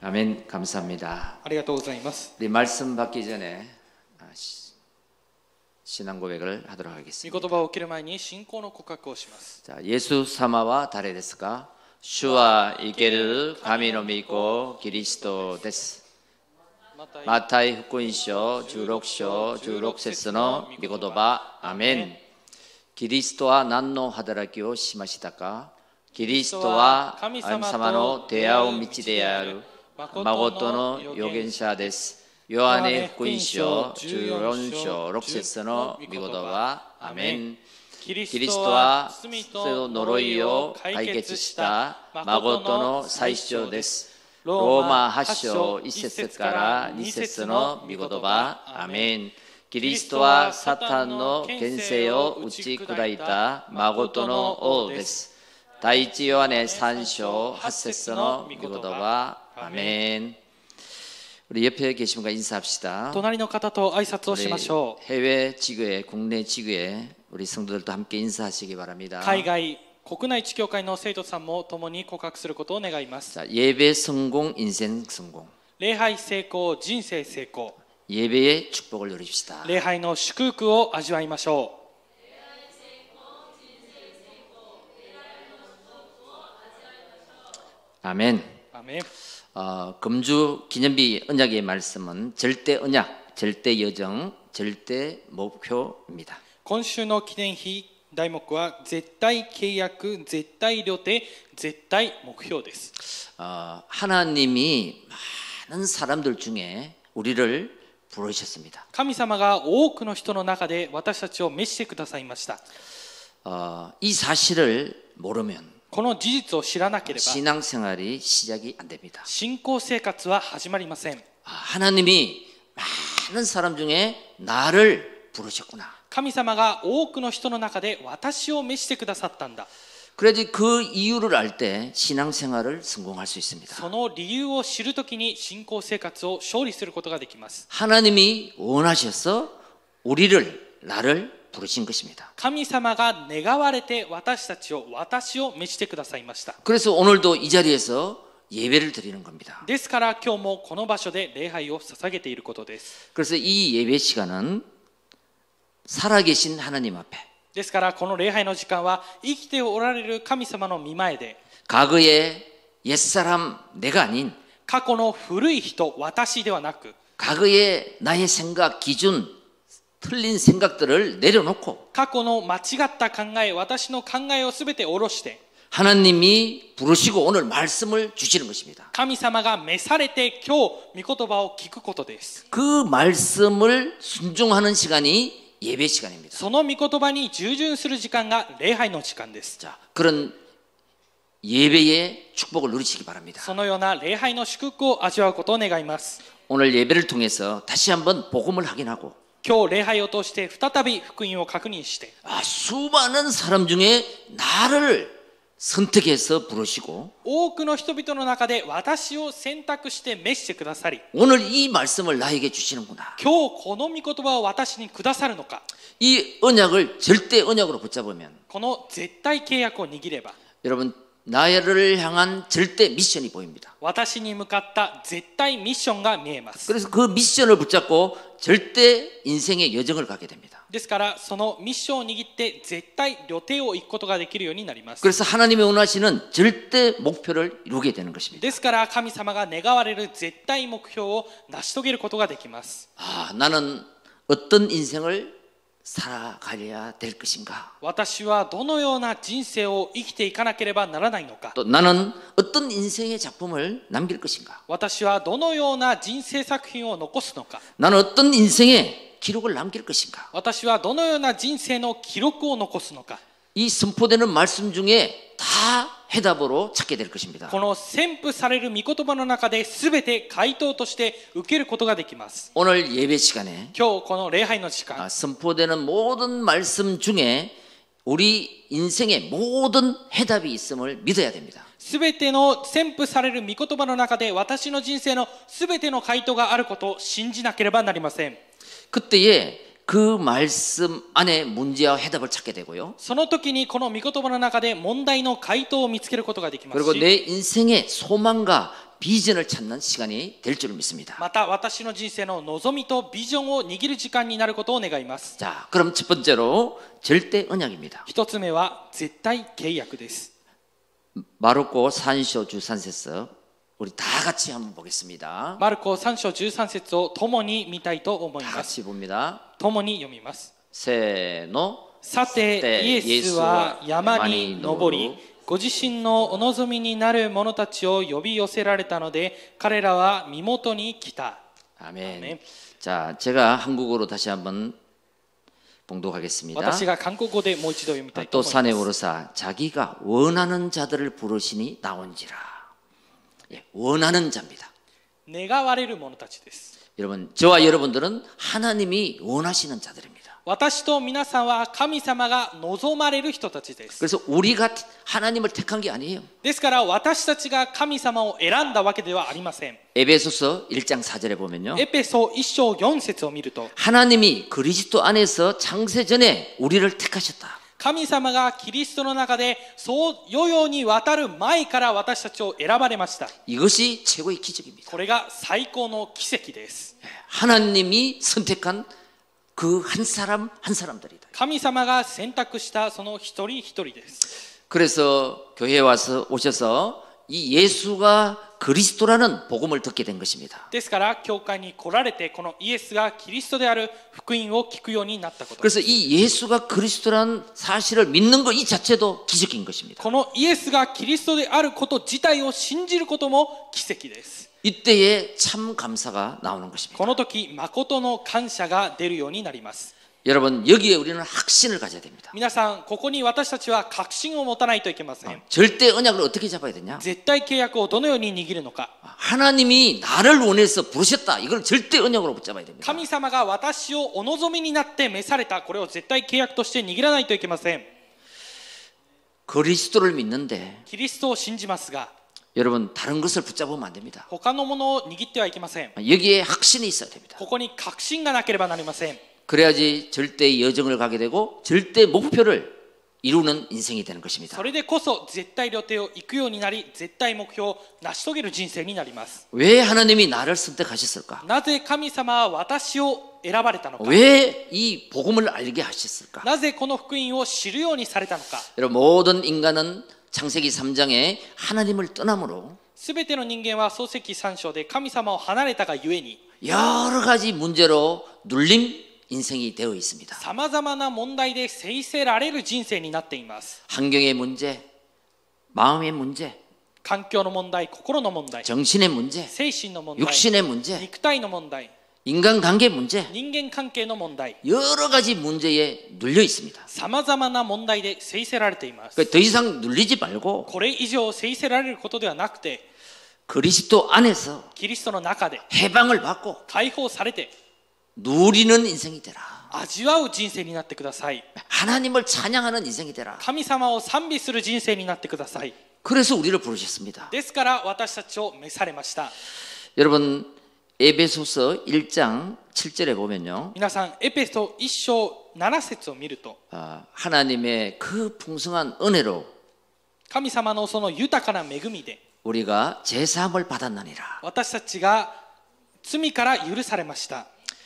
아멘. 감사합니다. ありがとうございます。 우리 말씀 받기 전에 신앙 고백을 하도록 御 하겠습니다. 言葉を受ける前に信仰の告白をします。 자, 예수 사마와誰ですか? 주와 이케를 가미노 믿고 그리스도です. 마타이福音書 16章 16節の御言葉アメン。キリストは何の働きをしましたか? キリストは神様の出会う道である誠の預言者です。ヨハネ福音書14章6節の御言葉アメン。キリストは罪と呪いを解決した誠の最初です。ローマ8章1節から2節の御言葉アメン。キリストはサタンの権勢を打ち砕いた誠の王です。第一ヨハネ3章8節の御言葉アメン。우리 옆에 계신 분과 인사합시다. 隣の方と挨拶をしましょう。 해외 지교회, 국내 지교회 우리 성도들도 함께 인사하시기 바랍니다. 海外、国内地教会の生徒さんも共に告白することを願います。 자, 예배 성공, 인생 성공. 礼拝成功、人生成功。 예배의 축복을 누립시다. 礼拝の祝福を味わいましょう。 아멘. 아멘. 금주 기념비 언약의 말씀은 절대 언약, 절대 여정, 절대 목표입니다. 今週の記念碑題目は絶対契約、絶対予定、絶対目標です。 하나님이 많은 사람들 중에 우리를 부르셨습니다. 神様が多くの人の中で私たちを召してくださいました。 이 사실을 모르면 この事実を知らなければ 신앙생활이 시작이 안 됩니다. 信仰生活は始まりません。 하나님이 많은 사람 중에 나를 부르셨구나. 神様が多くの人の中で私を召してくださったんだ。 그래야지 그 이유를 알 때 신앙생활을 성공할 수 있습니다. その理由を知るときに信仰生活を勝利することができます。 하나님이 원하셔서 우리를 나를 부르신 것입니다. 神様が願われて私を召してくださいました。 그래서 오늘도 이 자리에서 예배를 드리는 겁니다. ですから今日もこの場所で礼拝を捧げていることです。 그래서 이 예배 시간은 살아계신 하나님 앞에 ですからこの礼拝の時間は生きておられる神様の御前で 과거의 옛사람 내가 아닌 過去の古い人私ではなく 과거의 나의 생각 기준 틀린 생각들을 내려놓고 過去の間違った考え私の考えをすべて下ろして 하나님이 부르시고 오늘 말씀을 주시는 것입니다. 神様が召されて今日御言葉を聞くことです。 그 말씀을 순종하는 시간이 예배 시간입니다. その御言葉に従順する時間が礼拝の時間です。 자, 그런 예배의 축복을 누리시기 바랍니다. そのような礼拝の祝福を味わうことを願います。 오늘 예배를 통해서 다시 한번 복음을 확인하고 今日礼拝を通して再び福音を確認して 수많은 사람 중에 나를 선택해서 부르시고 多くの人々の中で私を選択して召してくださり 오늘 이 말씀을 나에게 주시는구나. 今日この御言葉を私にくださるのか 이 언약을 절대 언약으로 붙잡으면 この絶対契約を握れば 여러분 나를 향한 절대 미션이 보입니다. 私に向かった絶対ミッションが見えます。 그래서 그 미션을 붙잡고 절대 인생의 여정을 가게 됩니다. ですからそのミッションを握って絶対旅程を行くことができるようになります。 그래서 하나님이 원하시는 절대 목표를 이루게 되는 것입니다. ですから神様が願われる絶対目標を成し遂げることができます。 나는 어떤 인생을 살아가야 될 것인가? 私はどのような人生を生きていかなければならないのか。 또 나는 어떤 인생의 작품을 남길 것인가? 私はどのような人生作品を残すのか。 나는 어떤 인생의 기록을 남길 것인가? 私はどのような人生の記録を残すのか。 이 선포되는 말씀 중에 다 해답으로 찾게 될 것입니다. この宣布される御言葉の中で全て回答として受けることができます。 오늘 예배 시간에 今日この礼拝の時間 선포되는 모든 말씀 중에 우리 인생의 모든 해답이 있음을 믿어야 됩니다. 全ての宣布される御言葉の中で私の人生の全ての回答があることを信じなければなりません。 그때에 그 말씀 안에 문제와 해답을 찾게 되고요. その時にこの御言葉の中で問題の回答を見つけることができます 그리고 し 내 인생의 소망과 비전을 찾는 시간이 될 줄 믿습니다. また私の人生の望みとビジョンを握る時間になることを願います。 자, 그럼 첫 번째로 절대 언약입니다. 一つ目は絶対契約です。 마르코 3장 13절 우리 다 같이 한번 보겠습니다. マルコ3章13節を共に見たいと思い 다 ます。 같이 봅니다. 共に読みます。 세노 さてイエスは山に登り、ご自身のお望みになる者たちを呼び寄せられたので、彼らは身元に来た。 아멘. 아멘. 자, 제가 한국어로 다시 한번 봉독하겠습니다. 私が韓国語でもう一度読みたいと 또 思い 산에 ます。 오르사 자기가 원하는 자들을 부르시니 나온지라. 예, 원하는 자입니다. 願われる者たちです。 여러분, 저와 여러분들은 하나님이 원하시는 자들입니다. 私と皆さんは神様が望まれる人たちです。 그래서 우리가 하나님을 택한 게 아니에요. ですから私たちが神様を選んだわけではありません。 에베소서 1장 4절에 보면요. エペソ1章4節を見ると、 하나님이 그리스도 안에서 창세 전에 우리를 택하셨다. 神様がキリストの中でそう世々にわたる前から私たちを選ばれました。 이것이 최고의 기적입니다. これが最高の奇跡です。 하나님이 선택한 그 한 사람 한 사람들이다. 神様が選択したその一人一人です。 그래서 교회에 와서 오셔서 이 예수가 그리스도라는 복음을 듣게 된 것입니다. ですから教会に来られてこのイエスがキリストである福音を聞くようになったこと。 그래서 이 예수가 그리스도라는 사실을 믿는 것 이 자체도 기적인 것입니다. このイエスがキリストであること自体を信じることも奇跡です。 이때에 참 감사가 나오는 것입니다. この時誠の感謝が出るようになります。 여러분 여기에 우리는 확신을 가져야 됩니다. 皆さんここに私たちは確信を持たないといけません。 절대 언약을 어떻게 잡아야 되냐? 絶対契約をどのように握るのか。 하나님이 나를 원해서 부르셨다. 이걸 절대 언약으로 붙잡아야 됩니다. 神様が私をお望みになって召された、これを絶対契約として握らないといけません。 그리스도를 믿는데 キリストを信じますが 여러분 다른 것을 붙잡으면 안 됩니다. 他のものを握ってはいけません。 여기에 확신이 있어야 됩니다. ここに確信がなければなりません。 그래야지 절대의 여정을 가게 되고 절대 목표를 이루는 인생이 되는 것입니다. それでこそ絶対旅程を行くようになり、絶対目標を成し遂げる人生になります。 왜 하나님이 나를 선택하셨을까? なぜ神様は私を選ばれたのか。 왜 이 복음을 알게 하셨을까? なぜこの福音を知るようにされたのか。 여러분 모든 인간은 창세기 3장에 하나님을 떠남으로 すべての人間は創世記3章で神様を離れたがゆえに 여러 가지 문제로 눌림 인생이 되어 있습니다. さまざまな問題で制せられる人生になっています。 환경의 문제, 마음의 문제, 環境の問題、心の問題、 정신의 문제, 精神の問題、 육신의 문제, 肉体の問題、 인간관계 문제, 人間関係の問題、 여러 가지 문제에 눌려 있습니다. さまざまな問題で制せられています。 더 이상 눌리지 말고 これ以上制せられることではなくて、 그리스도 안에서 キリストの中で 해방을 받고 解放されて 누리는 인생이 되라. 味わう人生になってください。 하나님을 찬양하는 인생이 되라. 神様を賛美する人生になってください。 그래서 우리를 부르셨습니다. ですから私たちを召されました。 여러분 에베소서 1장 7절에 보면요. 皆さんエペソ1章7節を見ると、 하나님의 그 풍성한 은혜로 神様のその豊かな恵みで 우리가 제사함을 받았나니라. 私たちが罪から許されました。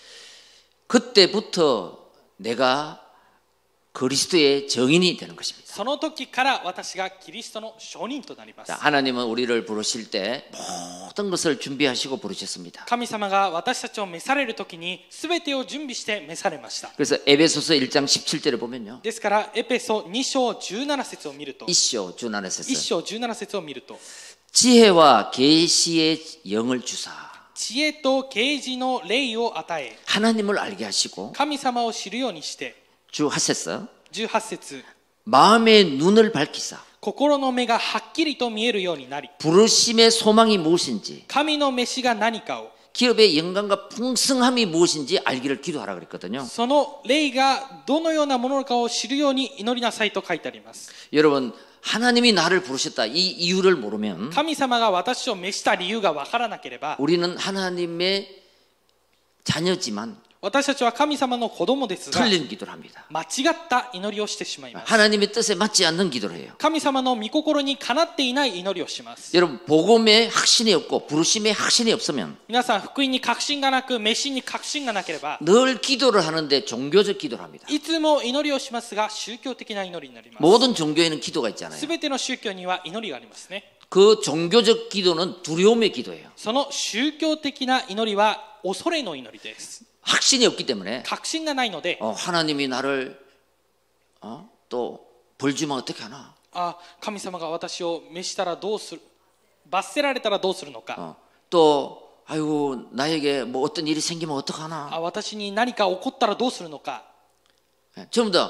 그때부터 내가 그리스도의 정인이 되는 것입니다. その時から私がキリストの証人となります。 자, 하나님은 우리를 부르실 때 모든 것을 준비하시고 부르셨습니다. 神様が私たちを召される時に全てを準備して召されました。 그래서 에베소서 1장 17절에 보면요. ですからエペソ2章17節を見ると、 1章 17節 1章17節を見ると、 지혜와 계시의 영을 주사 知恵と啓示の霊を与え、 하나님을 알게 하시고 神様を知るようにして、 주 하셨어. 18節 마음의 눈을 밝히사 心の目がはっきりと見えるようになり、 부르심의 소망이 무엇인지 神の召しが何かを、 기업의 영광과 풍성함이 무엇인지 알기를 기도하라 그랬거든요. その霊がどのようなものかを知るように祈りなさいと書いてあります。 여러분 하나님이 나를 부르셨다 이 이유를 모르면 神様が私を召した理由がわからなければ、 우리는 하나님의 자녀지만 私たちは神様の子供ですが 틀린 기도를 합니다. 間違った祈りをしてしまいます。 하나님의 뜻에 맞지 않는 기도를 해요. 神様の御心にかなっていない祈りをします。 여러분 복음에 확신이 없고 부르심에 확신이 없으면 皆さん、福音に確信がなく、召しに確信がなければ、 늘 기도를 하는데 종교적 기도를 합니다. いつも祈りをしますが、宗教的な祈りになります。 모든 종교에는 기도가 있잖아요. すべての宗教には祈りがありますね。 그 종교적 기도는 두려움의 기도예요. その宗教的な祈りは恐れの祈りです。 확신이 없기 때문에 確信がないので、 하나님이 나를 또 벌 주면 어떻게 하나? 神様が私を召したらどうする、罰せられたらどうするのか、 또 아이고 나에게 뭐 어떤 일이 생기면 어떡하나? 私に何か起こったらどうするのか、 전부 다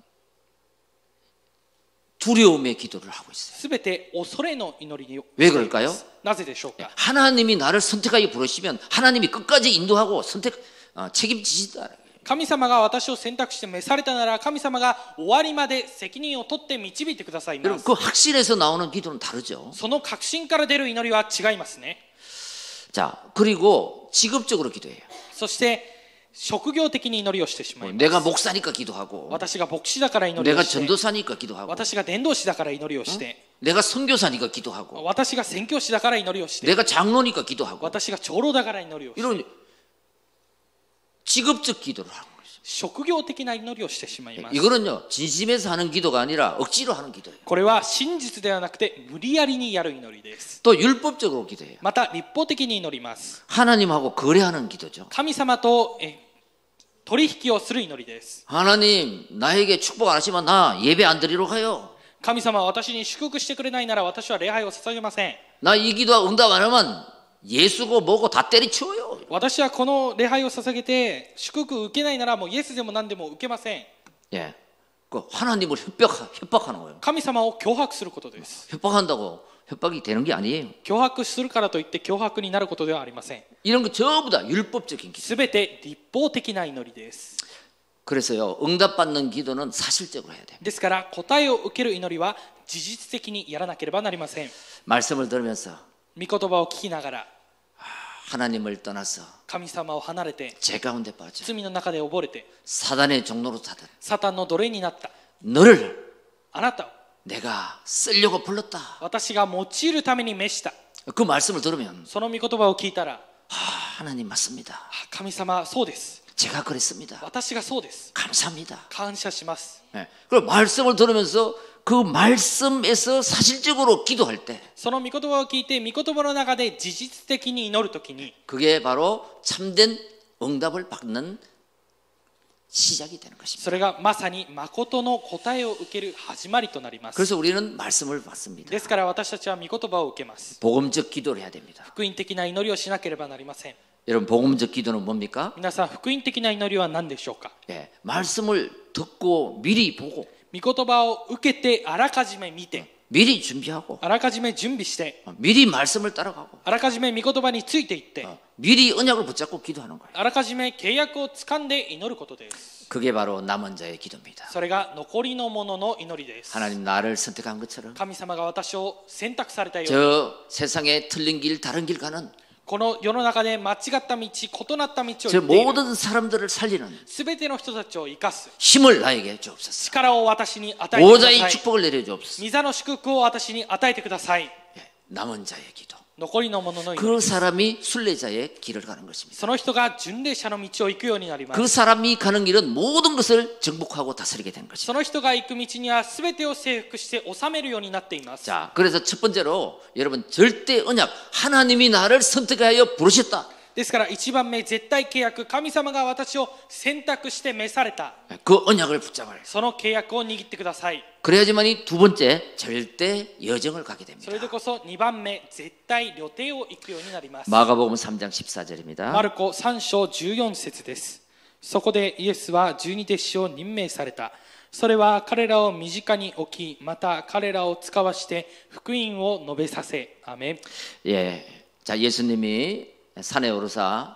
두려움의 기도를 하고 있어요. すべて恐れの祈りに。 왜 그럴까요? なぜでしょうか。 하나님이 나를 선택하게 부르시면 하나님이 끝까지 인도하고 책임지시다. 神様が私を選択して召されたなら、神様が終わりまで責任を取って導いてくださいま 여러분 す。 그 확신에서 나오는 기도는 다르죠. その確信から出る祈りは違いますね。 자, 그리고 직업적으로 기도해요. そして職業的に祈りをしてしまいます。 내가 목사니까 기도하고 私が牧師だから祈りを 내가 して、 전도사니까 기도하고 私が伝道師だから祈りをして、 내가 선교사니까 기도하고 私が宣教師だから祈りをして、 내가 장로니까 기도하고 私が長老だから祈りをして、 이런 직업적 기도를 하는 거죠. 職業的な祈りをしてしまいます。 이거는요 진심에서 하는 기도가 아니라 억지로 하는 기도예요. これは真実ではなくて無理やりにやる祈りです。 또 율법적으로 기도해요. また立法的に祈ります。 하나님하고 거래하는 기도죠. 神様と取引をする祈りです。 하나님 나에게 축복 안 하시면 나 예배 안 드리러 가요. 神様は私に祝福してくれないなら私は礼拝を捧げません。 나 이 기도 응답 안 하면 예수고 뭐고 다 때리치워요. 私はこの礼拝を捧げて祝福を受けないならもうイエスでも何でも受けません。 예, 그 하나님을 협박하는 거예요. 神様を脅迫することです。 협박한다고 협박이 되는 게 아니에요. 脅迫するからといって脅迫になることではありません。 이런 거 전부 다 율법적인 기도. すべて立法的な祈りです。 그래서요 응답받는 기도는 사실적으로 해야 돼요. ですから答えを受ける祈りは事実的にやらなければなりません。 말씀을 들으면서 御言葉を聞きながら 하나님을 떠나서 神様を離れて 죄 가운데 빠져 罪の中で溺れて 사단의 종로로 타듯 サタンの奴隷になった 너를 あなたを 내가 쓰려고 불렀다. 私が用いるために召した。 그 말씀을 들으면 その御言葉を聞いたら、 하나님 맞습니다. 神様そうです。 제가 그랬습니다. 私がそうです。 감사합니다. 感謝します。 네. 그리고 말씀을 들으면서 그 말씀에서 사실적으로 기도할 때 その御言葉を聞いて、御言葉の中で事実的に祈るときに、 그게 바로 참된 응답을 받는 시작이 되는 것입니다. それがまさに誠の答えを受ける始まりとなります。 그래서 우리는 말씀을 받습니다. ですから私たちは御言葉を受けます。 복음적 기도를 해야 됩니다. 福音的な祈りをしなければなりません。 여러분 복음적 기도는 뭡니까? 皆さん、福音的な祈りは何でしょうか。 예, 말씀을 듣고 미리 보고 御言葉を受けて、あらかじめ見て、 미리 준비하고 あらかじめ準備して、 미리 말씀을 따라가고 あらかじめ御言葉についていって、 미리 언약을 붙잡고 기도하는 거예요. あらかじめ契約をつかんで祈ることです。 그게 바로 남은 자의 기도입니다. それが残りのものの祈りです。 하나님 나를 선택한 것처럼 神様が私を選択されたように、 저 세상에 틀린 길 다른 길 가는 この世の中で間違った道、異なった道を 저 行っている 모든 사람들을 살리는 すべての人たちを生かす 힘을 나에게 주옵소서. 力を私に与えてくだ 보좌의 さい。 축복을 내려 주옵소서. 御座の祝福を私に与えてください。 예, 남은 자의 기도. 残りのものの祈 그 り、 사람이 순례자의 길을 가는 것입니다. その人が巡礼者の道を行くようになりま 그 す。 사람이 가는 길은 모든 것을 정복하고 다스리게 되는 것입니다. その人が行く道にはすべてを征服して治めるようになっています。 자, 그래서 첫 번째로 여러분 절대 언약 하나님이 나를 선택하여 부르셨다. ですから一番目、絶対契約、神様が私を選択して召された、 그 언약을 붙잡아요. その契約を握ってください。 그래야지만이 두 번째 절대 여정을 가게 됩니다. それでこそ2番目、絶対旅程を行くようになります。 마가복음 3장 14절입니다. マルコ3章14節です。そこでイエスは12弟子を任命された。それは彼らを身近に置き、また彼らを使わして福音を述べさせ。アメン。 예, 자 예수님이 산에 오르사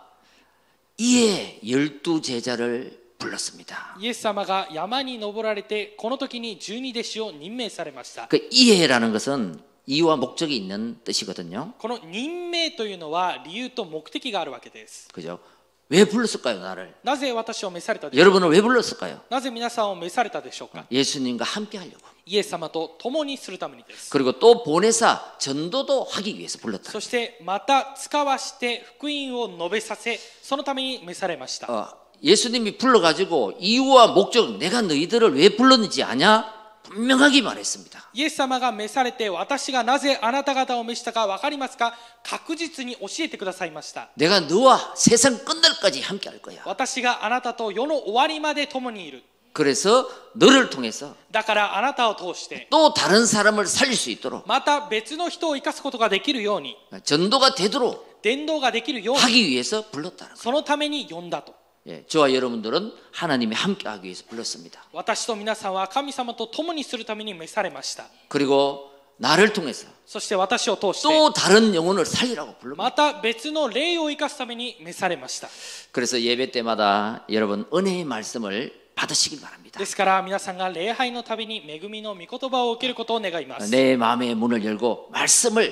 이에 12 제자를 불렀습니다. イエス様が山に登られて、この時に12弟子を任命されました。 그 이해라는 것은 이유와 목적이 있는 뜻이거든요. この任命というのは理由と目的があるわけです。 그죠? 왜 불렀을까요, 나를? なぜ私を召されたでしょうか。 여러분을 왜 불렀을까요? なぜ皆さんを召されたでしょうか。 예수님과 함께 하려고. イエス様と共にするためにです。 그리고 또 보내사 전도도 하기 위해서 불렀다. そしてまた使わして福音を述べさせ、そのために召されました。 예수님이 불러가지고 이유와 목적, 내가 너희들을 왜 불렀는지 아냐? 분명하게 말했습니다. イエス様が召されて、私がなぜあなた方を召したか分かりますか。確実に教えてくださいました。 내가 너와 세상 끝날까지 함께 할 거야. 私があなたと世の終わりまで共にいる。 그래서 너를 통해서 だからあなたを通して 또 다른 사람을 살릴 수 있도록 また別の人を生かすことができるように、 전도가 되도록 伝道ができるように、 하기 위해서 불렀다는 거예요. そのために呼んだと。 예, 저와 여러분들은 하나님이 함께 하기 위해서 불렀습니다. 私と皆さんは神様と共にするために召されました。 그리고 나를 통해서 そして私を通して 또 다른 영혼을 살리라고 ま 불렀습니다. た別の霊を生かすために召されました。 그래서 예배 때마다 여러분 은혜의 말씀을 받으시길 바랍니다. ですから皆さんが礼拝のたびに恵みの御言葉を受けることを願います。 내 마음의 문을 열고 말씀을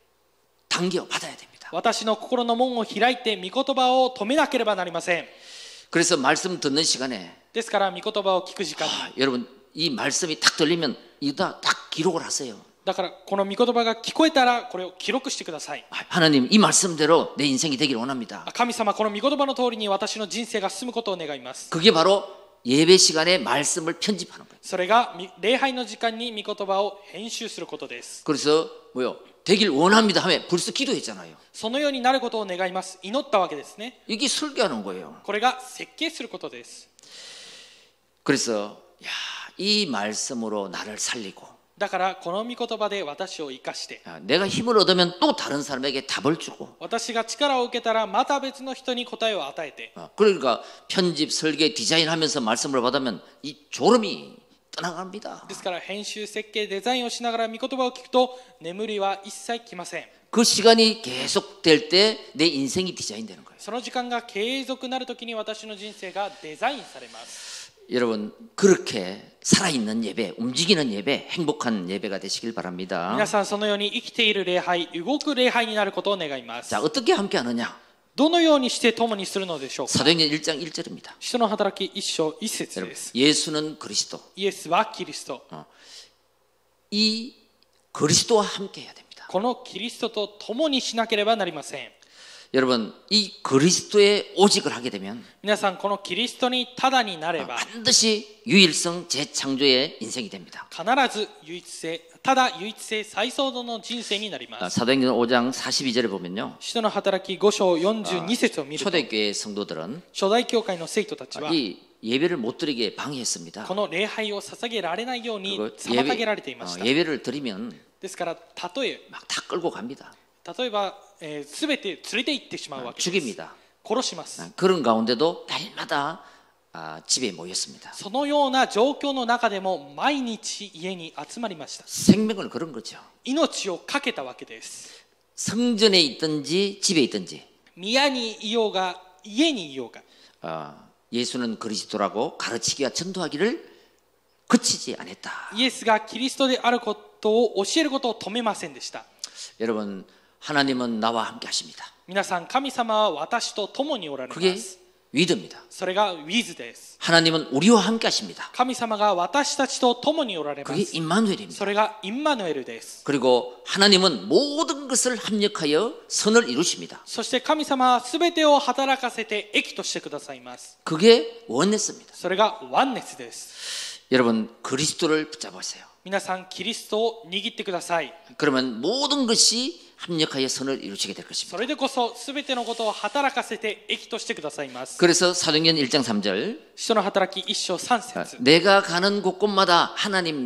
당겨 받아야 됩니다. 私の心の門を開いて御言葉を止めなければなりません。 그래서 말씀 듣는 시간에 ですから御言葉を聞く時間に、 여러분 이 말씀이 딱 들리면 이다 딱 기록을 하세요. だからこの御言葉が聞こえたらこれを記録してください。 하나님 이 말씀대로 내 인생이 되기를 원합니다. 神様、この御言葉の通りに私の人生が進むことを願います。 그게 바로 예배 시간에 말씀을 편집하는 거예요. それが礼拝の時間に御言葉を編集することです。 그래서 뭐요? 되길 원합니다 하면 벌써 기도했잖아요. そのようになることを願います。祈ったわけですね。 이게 설계하는 거예요. これが設計することです。 그래서 이 말씀으로 나를 살리고 だからこの御言葉で私を生かして、 내가 힘을 얻으면 또 다른 사람에게 답을 주고 私が力を受けたらまた別の人に答えを与えて、 그러니까 편집, 설계, 디자인하면서 말씀을 받으면 이 졸음이 떠나갑니다. ですから編集、設計、デザインをしながら御言葉を聞くと眠りは一切来ません。 그 시간이 계속될 때 내 인생이 디자인되는 거예요. その時間が継続なるときに私の人生がデザインされます。 여러분 그렇게 살아있는 예배, 움직이는 예배, 행복한 예배가 되시길 바랍니다. 皆さんそのように生きている礼拝、動く礼拝になることを願います。 자, 어떻게 함께 하느냐? どのようにして共にするのでしょうか。 사도행전 1장 1절입니다. 使徒の働き1章1節です。 예수는 그리스도. イエスはキリスト。 이 그리스도와 함께 해야 됩니다. このキリストと共にしなければなりません。 여러분 이 그리스도의 오직을 하게 되면 皆さんこのキリストにただになれば 반드시 유일성 재창조의 인생이 됩니다. 必ず唯一性、ただ唯一性再創造の人生になります。 사도행전 5장 42절에 보면요. 使徒の働き5章42節を見ると、 초대교회 성도들은 初代教会の生徒たちは 이 예배를 못 드리게 방해했습니다. この礼拝を捧げられないように 그리고 妨げられていました。 예배를 드리면 ですから例え 막 다 끌고 갑니다. ば、全て連れて行ってしまうわけです。 죽입니다. 殺します。 그런 가운데도 날마다 집에 모였습니다. そのような状況の中でも毎日家に集まりました。 생명을 걸은 거죠. 命を懸けたわけです。 성전에 있든지 집에 있든지 宮にいようが家にいようが、 예수는 그리스도라고 가르치기와 전도하기를 그치지 않았다. イエスがキリストであることを教えることを止めませんでした。 여러분 하나님은 나와 함께 하십니다. 皆さん、神様は私と共におられま 그게 す。 위드입니다. それがウィズです。 하나님은 우리와 함께 하십니다. 神様が私たちと共におられま 그게 す。 임마누엘입니다. それがインマヌエルです。 그리고 하나님은 모든 것을 합력하여 선을 이루십니다. そして神様はすべてを働かせて益としてくださいます。 그게 원네스입니다. それがワンネスです。 여러분 그리스도를 붙잡으세요. 皆さん、キリストを握ってください。 그러면 모든 것이 합력하여 선을 이루시게 될 そ 것입니다. れでこそすべてのことを働かせて益としてくださいます。 그래서 사도행전 1장 3절 使徒の働き1章3節 내가 가는 곳곳마다 하나님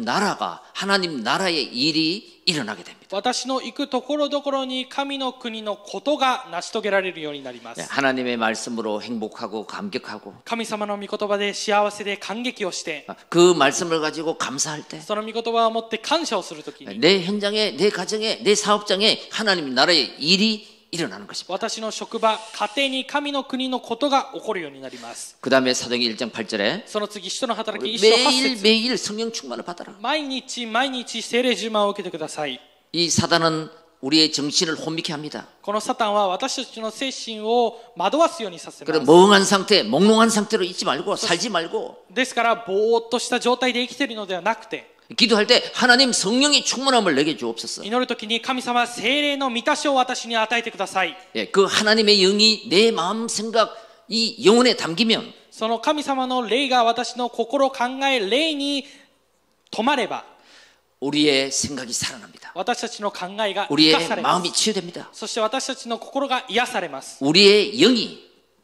나라의 일이 일어나게 됩니다. 私の行くところどころに神の国のことが成し遂げられるようになります。 하나님의 말씀으로 행복하고 감격하고 神様の御言葉で幸せで感激をして、 그 말씀을 가지고 감사할 때 その御言葉を持って感謝をするときに、 내 현장에 내 가정에 내 사업장에 하나님 나라의 일이 일어나는 것입니다. 私の職場、家庭に神の国のことが起こるようになります。 그 다음에 사도행전 1장 8절에 その次、使徒の働き1章8節 매일 성령 충만을 받아라. 毎日毎日聖霊充満を受けてください。 이 사단은 우리의 정신을 혼미케 합니다. このサタンは私たちの精神を惑わすようにさせま 그래 す。 멍한 상태, 몽롱한 상태로 있지 말고 살지 말고 ですからぼーっとした状態で生きているのではなくて、 기도할 때 하나님 성령의 충만함을 내게 주옵소서. 祈るときに神様は聖霊の満たしを私に与えてください。 예, 그 하나님의 영이 내 마음 생각 이 영혼에 담기면 その神様の霊が私の心考え霊に止まれば 우리의 생각이 살아납니다. 私たちの考えが生 우리의 かされま 마음이 す。 치유됩니다. そして私たちの心が癒されます。 우리의 영이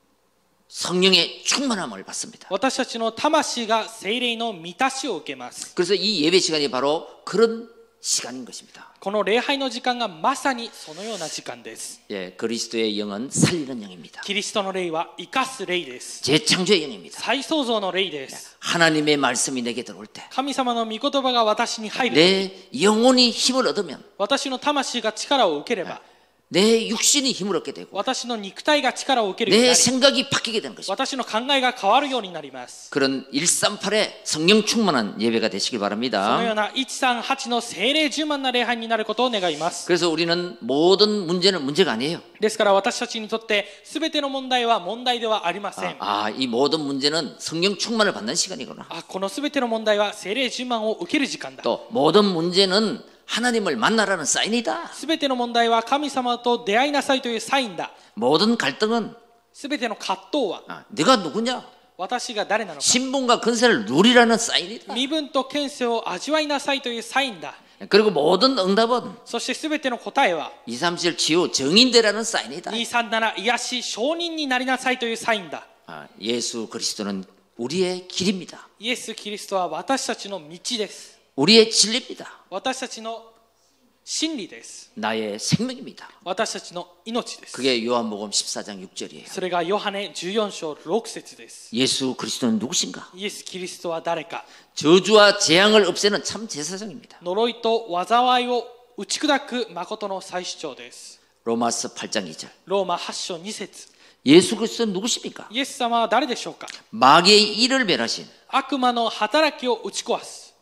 성령의 충만함을 받습니다. 私たちの魂が聖霊の満たしを受けます。 그래서 이 예배 시간이 바로 그런 시간인 것입니다. この礼拝の時間がまさにそのような時間です。 예, 그리스도의 영은 살리는 영입니다. キリストの霊は生かす霊です。 재창조의 영입니다. 再創造の霊です。 하나님의 말씀이 내게 들어올 때 神様の御言葉が私に入る。 내 영혼이 힘을 얻으면 私の魂が力を受ければ、 내 육신이 힘을 얻게 되고 私の肉体が力を受けるように 내 なり、 생각이 바뀌게 되는 것입니다. 私の考えが変わるようになります。 그런 138의 성령 충만한 예배가 되시길 そのよ 바랍니다. うな138の聖霊充満な礼拝になることを願います。 그래서 우리는 모든 문제는 문제가 아니에요. ですから私たちにとって全ての問題は問題ではありません。 이 모든 문제는 성령 충만을 받는 시간이구나. この全ての問題は聖霊充満を受ける時間だ。 또 모든 문제는 하나님을 만나라는 사인이다. 全ての問題は神様と出会いなさいというサインだ。 모든 갈등은 全ての葛藤は 네가 누구냐? 私が誰なのか。 신분과 근세를 누리라는 사인이다. 身分と権勢を味わいなさいというサインだ。 그리고 모든 응답은 そして全ての答えは 237 치유 정인되라는 사인이다. 237癒し証人になりなさいというサインだ。 예수 그리스도는 우리의 길입니다. イエス・キリストは私たちの道です。 우리의 진리입니다. 私たちの真理です。 나의 생명입니다. 私たちの命です。 그게 요한복음 14장 6절이에요. それがヨハネ14章6節です。 예수 그리스도는 누구신가? イエス・キリストは誰か。 저주와 재앙을 없애는 참 제사장입니다. 呪いと災いを打ち砕く誠の再主張です。 로마서 8장 2절. ローマ8章2節。 예수 그리스도는 누구십니까? イエス様は誰でしょうか。 마귀의 일을 멸하신 悪魔の働きを打ち壊す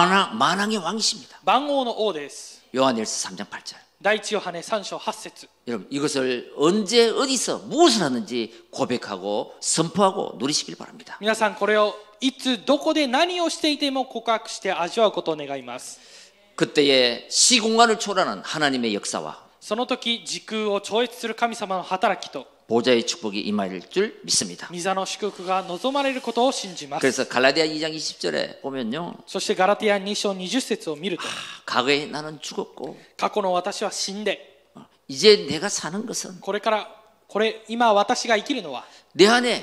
만왕의 왕이십니다. 万王の王です。 요한일서 3장 8절. 第一ヨハネ3章8節。 여러분 이것을 언제 어디서 무엇을 하는지 고백하고 선포하고 누리시길 바랍니다. 皆さんこれをいつどこで何をしていても告白して味わうことを願います。 그때의 시공간을 초월하는 하나님의 역사와 その時時空を超越する神様の働きと 보좌의 축복이 임할 줄 믿습니다. 御座の祝福が望まれることを信じます。 그래서 갈라디아 2장 20절에 보면요. そしてガラティア2章20節を見ると 과거에 나는 죽었고 過去の私は死んで 이제 내가 사는 것은 今私が生きるのは 내 안에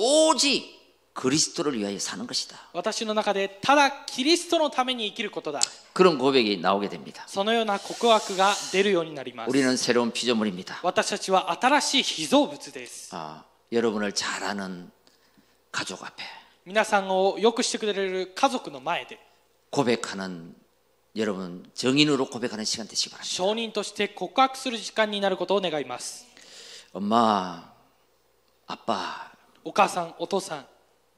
오직 그리스도를 위하여 사는 것이다. 私の中でただキリストのために生きることだ。 그런 고백이 나오게 됩니다. そのような告白が出るようになります。 우리는 새로운 피조물입니다. 私たちは新しい被造物です。 여러분을 잘 아는 가족 앞에 皆さんをよくしてくれる家族の前で 고백하는 여러분 정인으로 고백하는 시간 되시기 바랍니다. 証人として告白する時間になることを願います。 엄마, 아빠 お母さん、お父さん、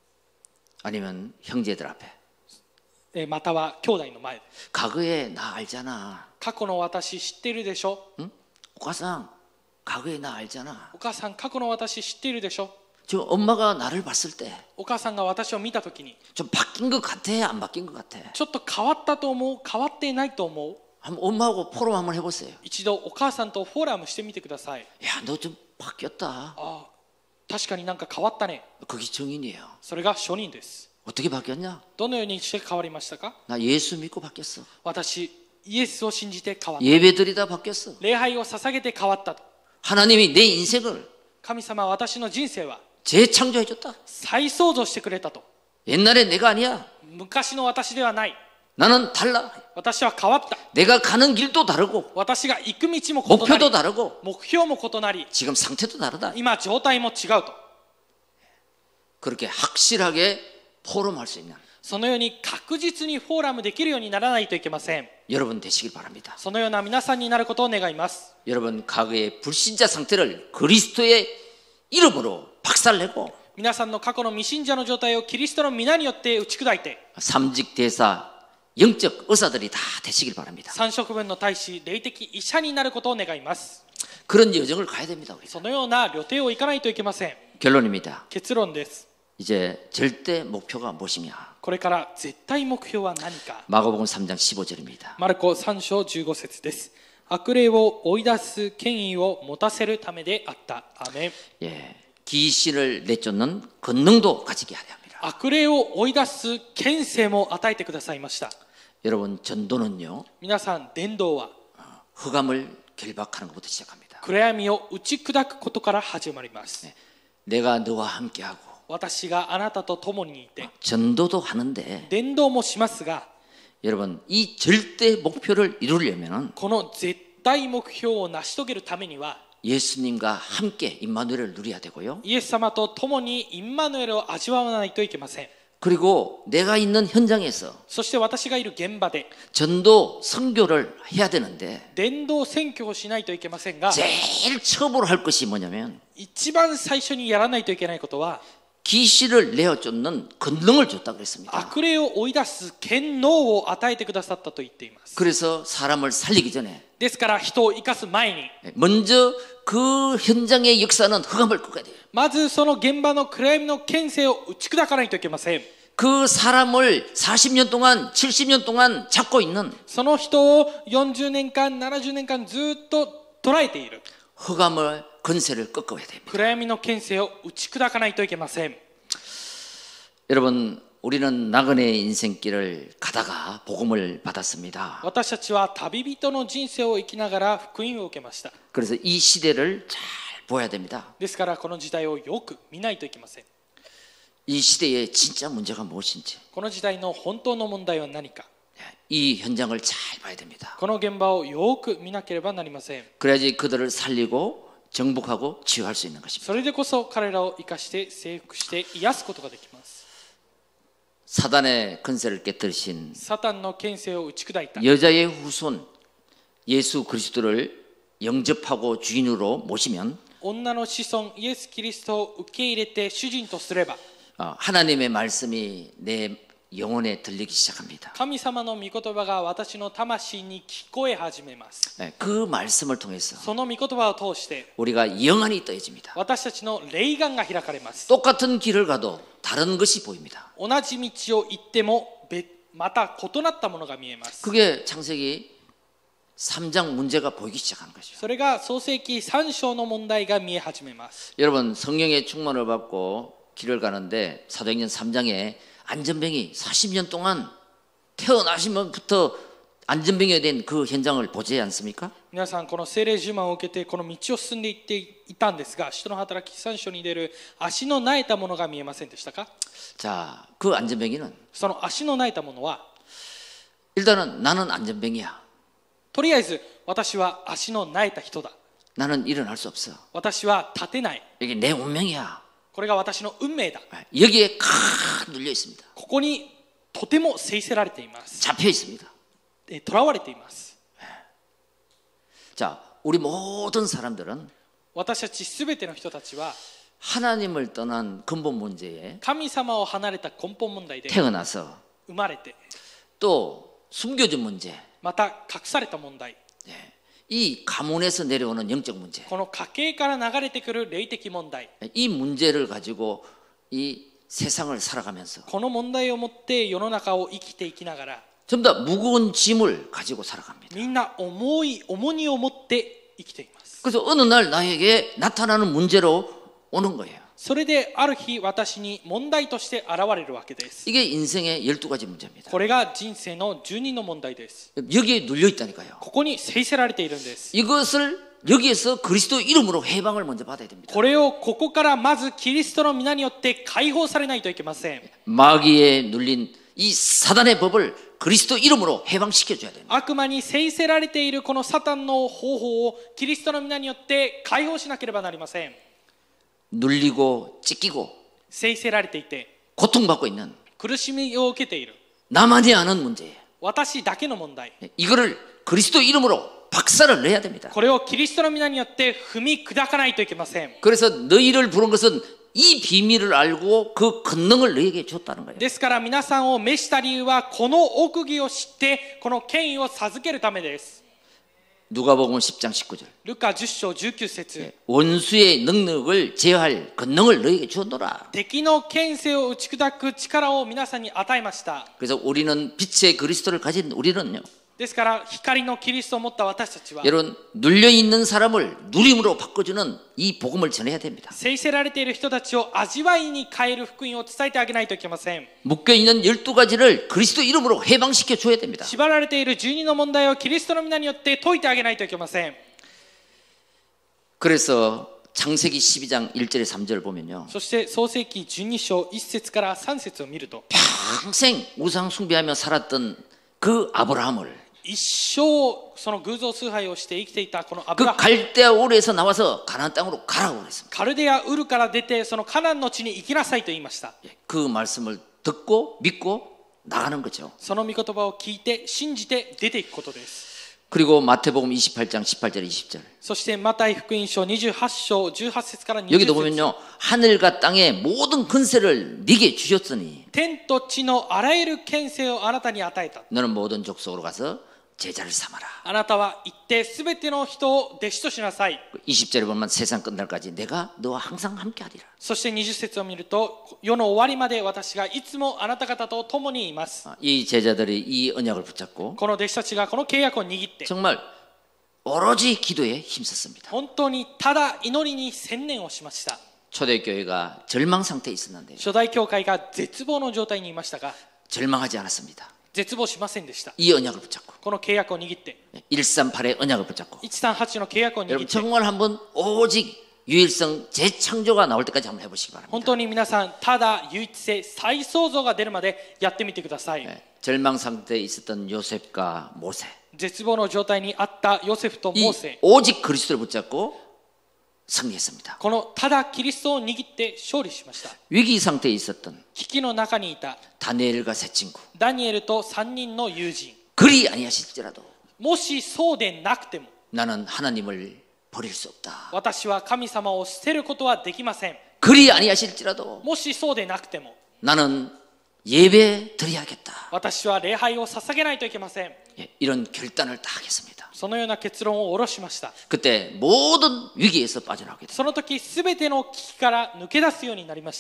아니면 형제들 앞에 または兄弟の前で 과거에 나 알잖아. 過去の私知っているでしょ。 응? 오가상 과거에 나 알잖아. お母さん過去の私知っているでしょ。 저 엄마가 나를 봤을 때 좀 お母さんが私を見たときに 바뀐 것 같아? 안 바뀐 것 같아? ちょっと変わったと思う、変わっていないと思う。 한번 엄마하고 포럼 한번 해보세요. 一度お母さんとフォーラムしてみてください。 야, 너 좀 바뀌었다. 確かになんか変わったね。 그게 정인이에요. それが証人です。 어떻게 바뀌었냐? どのようにして変わりましたか。 나 예수 믿고 바뀌었어. 私イエスを信じて変わった。 예배드리다 바뀌었어. 礼拝を捧げて変わったと。 하나님이 내 인생을 神様は私の人生は 재창조해줬다. 再創造してくれたと。 옛날에 내가 아니야. 昔の私ではない。 나는 달라. 私は変わった。 내가 가는 길도 다르고 私が行く道も異な 목표도 り、 다르고 目標も異なり、 지금 상태도 다르다. 今状態も違うと。 그렇게 확실하게 포럼할 수 있는 そのように確実にフォーラムできるようにならないといけません。 여러분 되시길 바랍니다. そのような皆さんになることを願います。 여러분 과거의 불신자 상태를 그리스도의 이름으로 박살내고 皆さんの過去の未信者の状態をキリストの皆によって打ち砕いて、 삼직 대사 영적 의사들이 다 되시길 바랍니다. 三職分の大使、霊的医者になることを願います。 그런 여정을 가야 됩니다. 우리가. そのような旅程を行かないといけません。 결론입니다. 結論です。 이제 절대 목표가 무엇이냐? これから絶対目標は何か。 마가복음 3장 15절입니다. マルコ3章15節です。悪霊を追い出す権威を持たせるためであった。アーメン。 예, 귀신을 내쫓는 권능도 가지게 하려 합니다. 悪霊を追い出す権勢も与えてくださいました。 여러분 전도는요. 皆さん、伝道は 흑암을 결박하는 것부터 시작합니다. 暗闇を打ち砕くことから始まります。 내가 너와 함께하고 私があなたと共にいて 전도도 하는데 伝道もしますが、 여러분 이 절대 목표를 이루려면은 この絶対目標を成し遂げるためには 예수님과 함께 임마누엘을 누려야 되고요. イエス様と共にインマヌエルを味わわないといけません。 그리고 내가 있는 현장에서 そして私がいる現場で 전도 선교를 해야 되는데 伝道宣教をしないといけませんが、 제일 처음으로 할 것이 뭐냐면 一番最初にやらないといけないことは 귀신을 내어쫓는 권능을 줬다고 그랬습니다. 悪霊を追い出す権能を与えてくださったと言っています。 그래서 사람을 살리기 전에 ですから人を生かす前に 먼저 그 현장의 역사는 흑암을 끄어야 돼요. まずその現場の暗闇の権勢を打ち砕かないといけません。 그 사람을 40년 동안 70년 동안 잡고 있는 その人を40年間70年間ずっと捉えている 흑암의 권세를 꺾어야 됩니다. 暗闇の権勢を打ち砕かないといけません。 여러분 우리는 나그네의 인생길을 가다가 복음을 받았습니다. 私たちは旅人の人生を生きながら福音を受けました。 그래서 이 시대를 잘 보아야 됩니다. ですからこの時代をよく見ないといけません。 이 시대의 진짜 문제가 무엇인지 この時代の本当の問題は何か。 이 현장을 잘 봐야 됩니다. この現場をよく見なければなりません。 그래야지 그들을 살리고 정복하고 치유할 수 있는 것입니다. それでこそ彼らを生かして征服して癒すことができます。 사단의 권세를 깨뜨리신 サタンの権勢を打ち砕いた 여자의 후손 예수 그리스도를 영접하고 주인으로 모시면 女の子孫イエス・キリストを受け入れて主人とすれば 하나님의 말씀이 내 영혼에 들리기 시작합니다. 神様の御言葉が私の魂に聞こえ始めます。 그 말씀을 통해서 その御言葉を通して 우리가 영안이 떠해집니다. 私たちの霊眼が開かれます。 똑같은 길을 가도 다른 것이 보입니다. 同じ道を行ってもまた異なったものが見えます。 그게 창세기 3장 문제가 보이기 시작하는 것이죠. それが創世記3章の問題が見え始めます。 여러분 성령의 충만을 받고 길을 가는데 사도행전 3장에 안전병이 40년 동안 태어나시면부터 안전병이 된 그 현장을 보지 않습니까? 皆さんこの聖霊呪文を受けてこの道を進んでいっていたんですが、使徒の働き3章に出る足の苗えたものが見えませんでしたか？ 자, 그 안전병이는 その足の苗えたものは 일단은 나는 안전병이야. とりあえず私は足の苗えた人だ。 나는 일어날 수 없어. 私は立てない。 이게 내 운명이야. これが私の運命だ。 여기에 칵 눌려 있습니다. ここにとても制せられています。 잡혀 있습니다. 囚われています。 자, 우리 모든 사람들은 私たちすべての人たちは 하나님을 떠난 근본 문제에 神様を離れた根本問題で 태어나서 生まれて、 또 숨겨진 문제, また隠された問題、 이 가문에서 내려오는 영적 문제, この家系から流れてくる霊的問題、 이 문제를 가지고 이 세상을 살아가면서 この問題を持って世の中を生きていきながら、 전부 다 무거운 짐을 가지고 살아갑니다. みんな重荷を持って生きています。 그래서 어느 날 나에게 나타나는 문제로 오는 거예요. それである日私に問題として現れるわけです。 이게 인생의 12가지 문제입니다. これが人生の12の問題です。 여기에 눌려 있다니까요. ここに制せられているんです。 이것을 여기에서 그리스도 이름으로 해방을 먼저 받아야 됩니다. これをここからまずキリストの皆によって解放されないといけません。 마귀에 눌린 이 사단의 법을 그리스도 이름으로 해방시켜 줘야 됩니다. 悪魔に制せられているこのサタンの方法をキリストの皆によって解放しなければなりません。 눌리고 찢기고 制せられていて 고통받고 있는 苦しみを受けている 나만이 아는 문제예요. 私だけの問題。 이거를 그리스도 이름으로 박살을 내야 됩니다. これをキリストの皆によって踏み砕かないといけません。 그래서 너희를 부른 것은 이 비밀을 알고 그 권능을 너에게 줬다는 거예요. ですから皆さんを召した理由はこの奥義を知ってこの権威を授けるためです。 누가복음 10장 19절. ルカ10章19節 원수의 능력을 제어할 권능을 너에게 주었노라. 敵の権勢を打ち砕く力を皆さんに与えました。 그래서 우리는 빛의 그리스도를 가진 우리는요. ですから光のキリストを持った私たちは 여러분 눌려 있는 사람을 누림으로 바꿔주는 이 복음을 전해야 됩니다. 制せられている人たちを味わいに変える福音を伝えてあげないといけません。 묶여 있는 12가지를 그리스도 이름으로 해방시켜 줘야 됩니다. 縛られている12の問題をキリストの皆によって解いてあげないといけません。 그래서 창세기 12장 1절에 3절을 보면요. そして創世記12章1節から3節を見ると 평생 우상 숭배하며 살았던 그 아브라함을 一生その偶像崇拝をして生きていたこのアブ 그 ラハム 갈대아 오르에서 나와서 가나안 땅으로 가라고 그랬습니다. カルデアウルから出てそのカナンの地に行きなさいと言いました。 그 말씀을 듣고 믿고 나가는 거죠. その御言葉を聞いて信じて出ていくことです。 그리고 마태복음 28장 18절 20절. そしてマタイ福音書28章18節から20 여기도 節 보면요. 하늘과 땅의 모든 권세를 네게 주셨으니 天と地のあらゆる権勢をあなたに与えた。 너는 모든 족속으로 가서 제자를 삼아라. あなたは行ってすべての人を弟子としなさい。 20절에 보면 세상 끝날까지 내가 너와 항상 함께하리라. そして20節を見ると世の終わりまで私がいつもあなた方と共にいます。 이 제자들이 이 언약을 붙잡고 この弟子たちがこの契約を握って 정말 오로지 기도에 힘썼습니다. 本当にただ祈りに専念をしました。 초대교회가 절망 상태에 있었는데 初代教会が絶望の状態にいましたが 절망하지 않았습니다. 絶望しませんでした。 이 언약을 붙잡고 この契約を握って 138의 언약을 붙잡고 138の契約を握 여러분 って 정말 한번 오직 유일성 재창조가 나올 때까지 한번 해보시기 本 바랍니다. 当に皆さんただ唯一性再創造が出るまでやってみてください。 절망 상태에 있었던 요셉과 모세 絶望の状態にあったヨセフと 이 モーセ、 오직 그리스도를 붙잡고 승리했습니다. このただキリストを握って勝利しました。 위기 상태에 있었던 危機の中にいた 다니엘과 세 친구 ダニエルと3人の友人、 그리 아니하실지라도 もしそうでなくても 나는 하나님을 버릴 수 없다. 私は神様を捨てることはできません。 그리 아니하실지라도 もしそうでなくても 나는 예배 드려야겠다. 私は礼拝を捧げないといけません。 예, 이런 결단을 딱 했습니다. そのような結論を下ろしました。 그때 모든 위기에서 빠져나오게 됐습니다. その時すべての危機から抜け出すようになりました。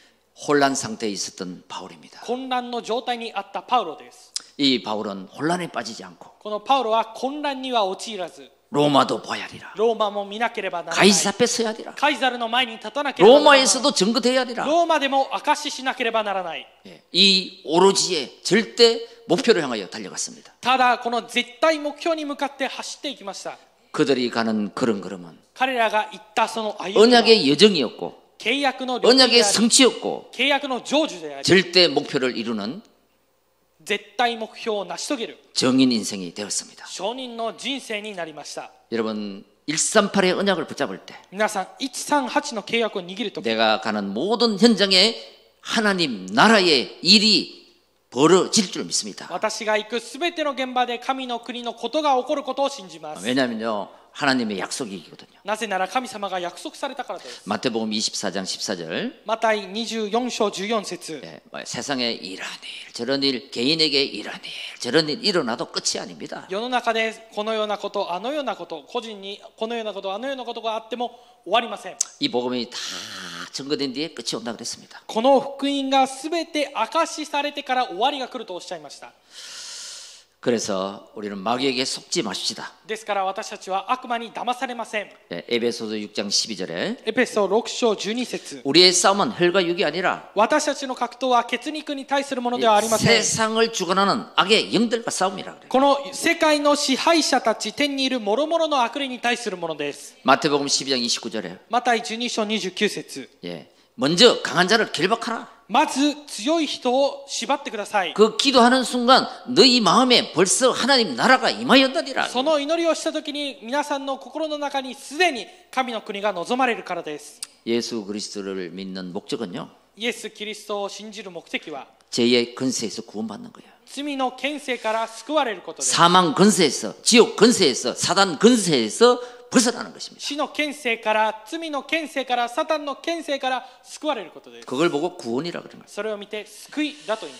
혼란 상태에 있었던 바울입니다. 混乱の状態にあったパウロです。 이 바울은 혼란에 빠지지 않고 このパウロは混乱には陥らず、 로마도 봐야 하리라. ローマも見なければならない。 가이사 앞에 서야 하리라. カイザルの前に立たなければならない。 로마에서도 증거돼야 하리라. ローマでも証ししなければならない。 예, 이 오로지의 절대 목표를 향하여 달려갔습니다. ただこの絶対目標に向かって走っていきました。 그들이 가는 그런 걸음은 彼らが行ったその歩みは 언약의 여정이었고 契約の領域で 언약의 あり、 성취였고 契約の成就であり、 절대 목표를 이루는 絶対目標を成し遂げる 정인 인생이 되었습니다. 証人の人生になりました。 여러분 138의 언약을 붙잡을 때 皆さん138の契約を握るとき、 내가 가는 모든 현장에 하나님 나라의 일이 벌어질 줄 믿습니다. 私が行くすべての現場で神の国のことが起こることを信じます。 왜냐하면요 하나님의 약속이거든요. なぜなら神様が約束されたからです。 마태복음 24장 14절 マタイ24章14節、 예, 세상에 이런 일 저런 일 개인에게 이런 일 저런 일 일어나도 끝이 아닙니다. 世の中でこのようなことあのようなこと個人にこのようなことあのようなことがあっても終わりません。 이 복음이 다 증거된 뒤에 끝이 온다 그랬습니다. この福音がすべて証しされてから終わりが来るとおっしゃいました。 그래서 우리는 마귀에게 속지 마십시다. ですから私たちは悪魔に騙されません。 예, 에베소서 6장 12절에 エペソ6章12節、 우리의 싸움은 혈과 육이 아니라 私たちの格闘は血肉に対するものではありません。 세상을 주관하는 악의 영들과 싸움이라 그래요. この世界の支配者たち、天にいる諸々の悪霊に対するものです。 마태복음 12장 29절에 マタイ12章29節、 예, 먼저 강한 자를 결박하라. まず強い人を縛ってください。 그 기도하는 순간 너희 마음에 벌써 하나님 나라가 임하였다니라. その祈りをしたときに皆さんの心の中にすでに神の国が望まれるからです。 예수 그리스도를 믿는 목적은요. イエス・キリストを信じる目的は 죄의 근세에서 구원받는 거예요. 罪の権勢から救われることです。 사망 근세에서 지옥 근세에서 사단 근세에서 벗어나는 것입니다. 死の権勢から、罪の権勢から、サタンの権勢から救われることです。 그걸 보고 구원이라 그런 거예요. それを見て救いだと言います。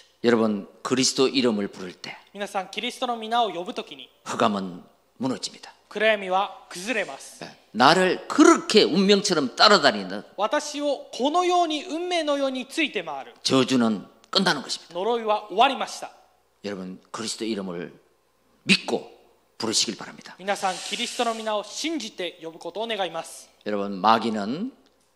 여러분 그리스도 이름을 부를 때 皆さん、キリストの皆を呼ぶときに 흑암은 무너집니다. 暗闇は崩れます。 나를 그렇게 운명처럼 따라다니는 私をこのように運命のようについて回る 저주는 끝나는 것입니다. 呪いは終わりました。 여러분 그리스도 이름을 믿고 부르시길 바랍니다. 皆さん、キリストの皆を信じて呼ぶことを願います。 여러분 마귀는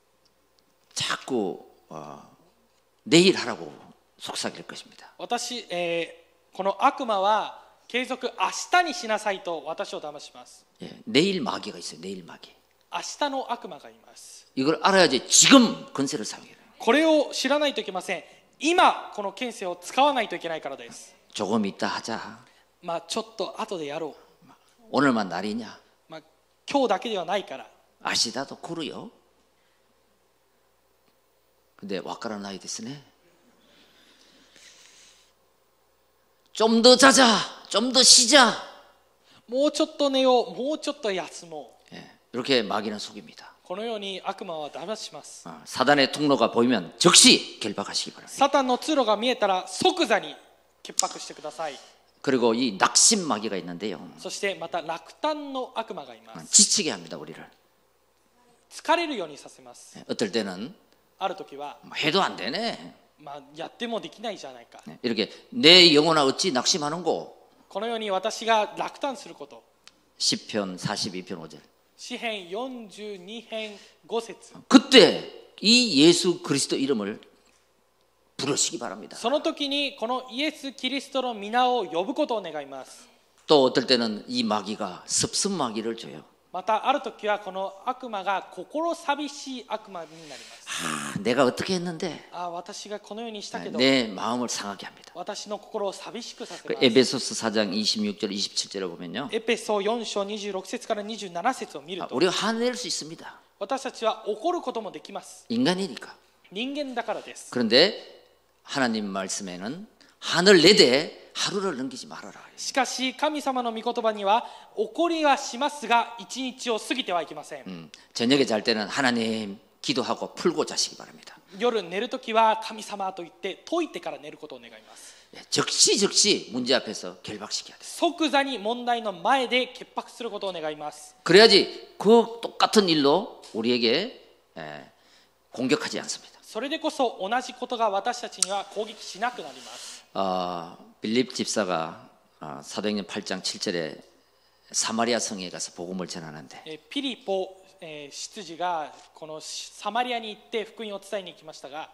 자꾸 내일 하라고 속삭일 것입니다. 私、この悪魔は継続明日にしなさいと私を騙します。 예, 내일 마귀가 있어요. 내일 마귀. 明日の悪魔がいます。 이걸 알아야지 지금 권세를 사용해요. これを知らないといけません。今この権勢を使わないといけないからです。 조금 있다 하자. まあちょっと後でやろ 오늘만 날이냐? う。まあ今日だけではないから。 아시다도 그래요. 근데 와까라 나이 됐으네. 좀 더 자자. 좀 더 쉬자. もうちょっと寝よう。もうちょっと休もう。 예, 이렇게 마귀는 속입니다. このように悪魔は騙します。 사단의 통로가 보이면 즉시 결박하시기 바랍니다. サタンの通路が見えたら即座に潔白してください。 그리고 이 낙심 마귀가 있는데요. そしてまた落胆の悪魔がいます。 지치게 합니다. 우리를. 疲れるようにさせます。 어떨 때는 ある時は、 해도 안 되네. まあ、やってもできないじゃないか。 이렇게 내 영혼아 어찌 낙심하는 거. このように私が落胆すること。 시편 42편 5절. 詩編42編5節。 그때 이 예수 그리스도 이름을 부르시기 바랍니다. その時にこのイエス・キリストの皆を呼ぶことを願います。 또 어떨 때는 이 마귀가 습습 마귀를 줘요. またある時はこの悪魔が心寂しい悪魔になります。 내가 어떻게 했는데 私がこのようにしたけど、 내 마음을 상하게 합니다. 私の心を寂しくさせ 그 ます。 에베소서 4장 26절 27절을 보면요. エペソ4章26節から27節を見ると、 우리가 화낼 수 있습니다. 私たちは怒ることもできます。 인간이니까. 人間だからです。 그런데 하나님 말씀에는 하늘 내대 하루를 넘기지 말아라. しかし神様の御言葉には怒りはしますが一日を過ぎてはいけません。 저녁에 잘 때는 하나님 기도하고 풀고 자시기 바랍니다. 夜寝るときは神様と言って解いてから寝ることを願います。 즉시 문제 앞에서 결박시켜야 돼요. 即座に問題の前で潔白することを願います。 그래야지 그 똑같은 일로 우리에게 공격하지 않습니다. それでこそ同じことが私たちには攻撃しなくなります。 빌립 집사가 사도행전 8장 7절에 사마리아 성에 가서 복음을 전하는데 ピリポ執事がこのサマリアに行って福音を伝えに行きましたが、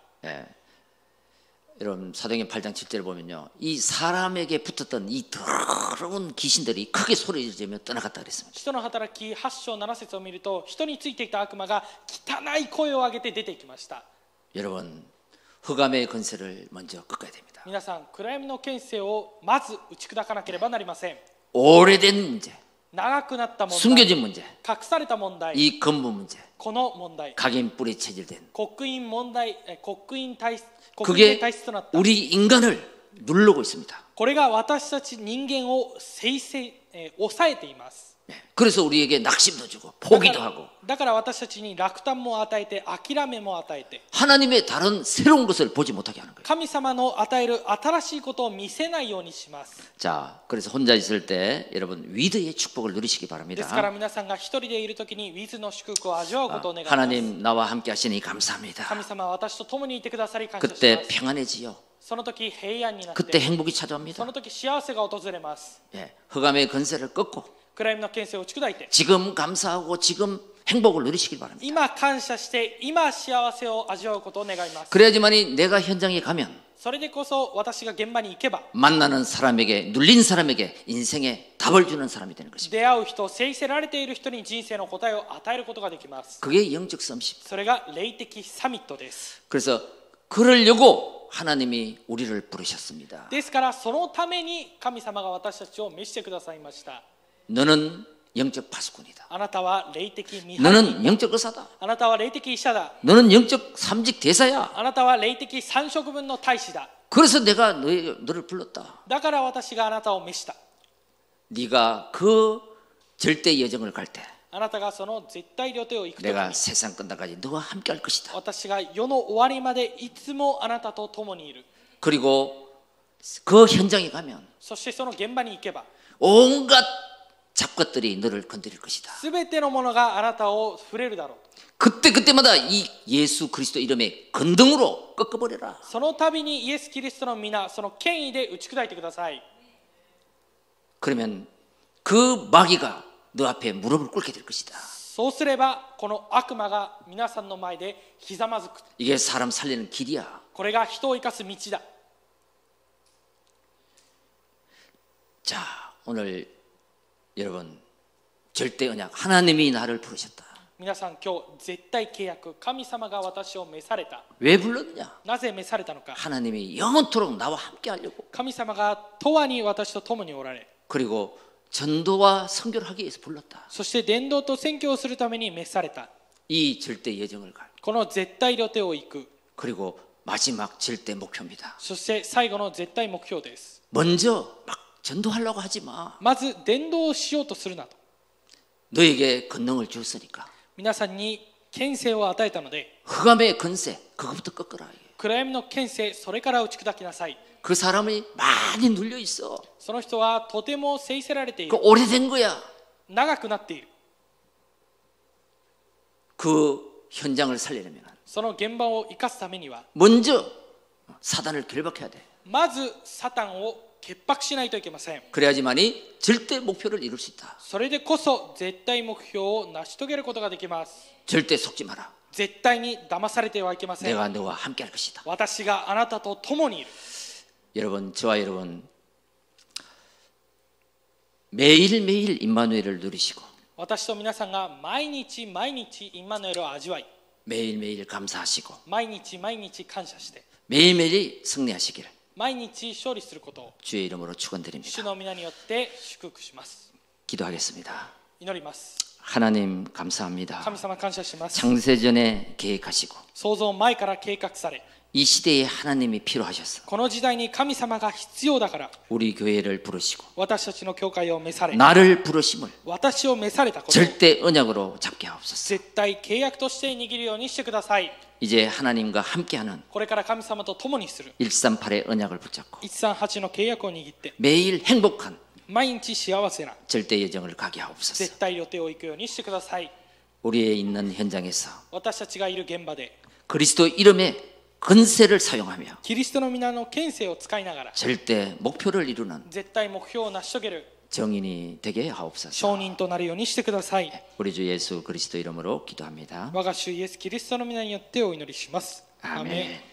여러분 사도행전 8장 7절을 보면요, 이 사람에게 붙었던 이 더러운 귀신들이 크게 소리를 지르며 떠나갔다 그랬습니다. 使徒の働き8章7節を見ると、人についていた悪魔が汚い声を上げて出て行きました。 여러분 흑암의 권세를 먼저 꺾어야 됩니다. 皆さん、暗闇の権勢をまず打ち砕かなければなりません。 오래된 문제, 長くなった問題、 숨겨진 문제, 隠された問題、 이 근본 문제, この問題、 각인 뿌리 체질된 刻印問題、刻印体質、刻印 그게 で体質となった。 우리 인간을 누르고 있습니다. これが私たち人間を抑えています。 그래서 우리에게 낙심도 주고 포기도 하고 だから私たちに落胆も与えて諦めも与えて 하나님의 다른 새로운 것을 보지 못하게 하는 거예요. 神様の与える新しいことを見せないようにします。 자, 그래서 혼자 있을 때 여러분 위드의 축복을 누리시기 ですから 바랍니다. 皆さんが一人でいるときにウィズの祝福を味わうことを願います。 하나님 나와 함께 하시니 감사합니다. 神様は私と共にいてくださり感謝し 그때 ます。 평안해지요. その時平安になっ 그때 て、 행복이 そ 찾아옵니다. の時幸せが訪れます。 예, 흑암의 권세를 꺾고 暗闇の権勢を打ち砕いて、 지금 감사하고 지금 행복을 누리시길 바랍니다. 今感謝して今幸せを味わうことを願います。 그래야지만이 내가 현장에 가면 それでこそ私が現場に行けば 만나는 사람에게 눌린 사람에게 인생에 답을 주는 사람이 되는 것입니다. 出会う人、制せられている人に人生の答えを与えることができます。 그게 영적 썸십니다. それが霊的サミットです。 그래서 그러려고 하나님이 우리를 부르셨습니다. ですからそのために神様が私たちを召してくださいました。 너는 영적 파수꾼이다. あなたは霊的見張り 너는 人、 영적 의사다. あなたは霊的医者だ、 너는 영적 삼직 대사야. あなたは霊的三職分の大使だ。 그래서 내가 너를 불렀다. だから私があなたを召した。 네가 그 절대 여정을 갈 때 あなたがその絶対領地を行くとき 내가 に 세상 끝날까지 너와 함께 할 것이다. 私が世の終わりまでいつもあなたと共にいる。 그리고 그 현장에 가면 そしてその現場に行けば 온갖 잡것들이 너를 건드릴 것이다. すべてのものがあなたを触れるだろう。 그때마다 이 예수 그리스도 이름에 건등으로 꺾어버려라. その度にイエス・キリストの皆、その権威で打ち砕いてください。 그러면 그 마귀가 너 앞에 무릎을 꿇게 될 것이다. そうすればこの悪魔が皆さんの前でひざまずく。 이게 사람 살리는 길이야. これが人を生かす道だ。 자, 오늘 여러분 절대 언약 하나님이 나를 부르셨다. 皆さん今日絶対契約、神様が私を召された。 왜 불렀느냐? なぜ召されたのか。 하나님이 영원토록 나와 함께 하려고. 神様が永遠に私と共におられ、 그리고 전도와 선교를 하기 위해서 불렀다. そして伝道と宣教をするために召された。 이 절대 예정을 갈. この絶対領地を行く。 그리고 마지막 절대 목표입니다. そして最後の絶対目標です。 먼저 막 전도하려고 하지 마. まず伝道をしようとするなと。 너에게 권능을 주었으니까. 皆さんに権勢を与えたので、 흑암의 권세 그것부터 꺾어라. 暗闇の権勢、それから打ち砕きなさい。 그 사람이 많이 눌려 있어. その人はとても制せられてい 그 る。 오래된 거야. 長くなっている。 그 현장을 살리려면 その現場を生かすためには、 먼저 사단을 결박해야 돼. まずサタンを潔白しないといけません。 그래야지만이 절대 목표를 이룰 수 있다. それでこそ絶対目標を成し遂げることができます。 절대 속지 마라. 絶対に騙されてはいけません。 내가 너와 함께 할 것이다. 私があなたと共にいる。 여러분, 저와 여러분 매일매일 임마누엘을 누리시고 私と皆さんが毎日毎日インマヌエルを味わい、 매일매일 감사하시고 毎日毎日感謝して、 매일매일 승리하시기를 毎日勝利することを 주의 이름으로 축원드립니다. 主の皆によって祝福します。 기도하겠습니다. 祈ります。 하나님 감사합니다. 神様感謝します。 창세전에 계획하시고 創造前から計画され、 이 시대에 하나님이 필요하셔서 この時代に神様が必要だから、 우리 교회를 부르시고 私たちの教会を召され、 나를 부르심을 私を召されたことを 절대 언약으로 잡게 하옵소서. 絶対契約として握るようにしてください。 이제 하나님과 함께하는 これから神様と共にする 138의 언약을 붙잡고 138の契約を握って、 매일 행복한 毎日幸せな 절대 예정을 가게 하옵소서. 絶対予定を行くようにしてください。 우리의 있는 현장에서 私たちがいる現場で 그리스도 이름의 권세를 사용하며 キリストの皆の権勢を使いながら 절대 목표를 이루는 絶対目標を成し遂げる 정인이 되게 하옵소서. 証人となるようにしてください。 우리 주 예수 그리스도 이름으로 기도합니다. 我が主イエス・キリストの皆によってお祈りします。 アーメン。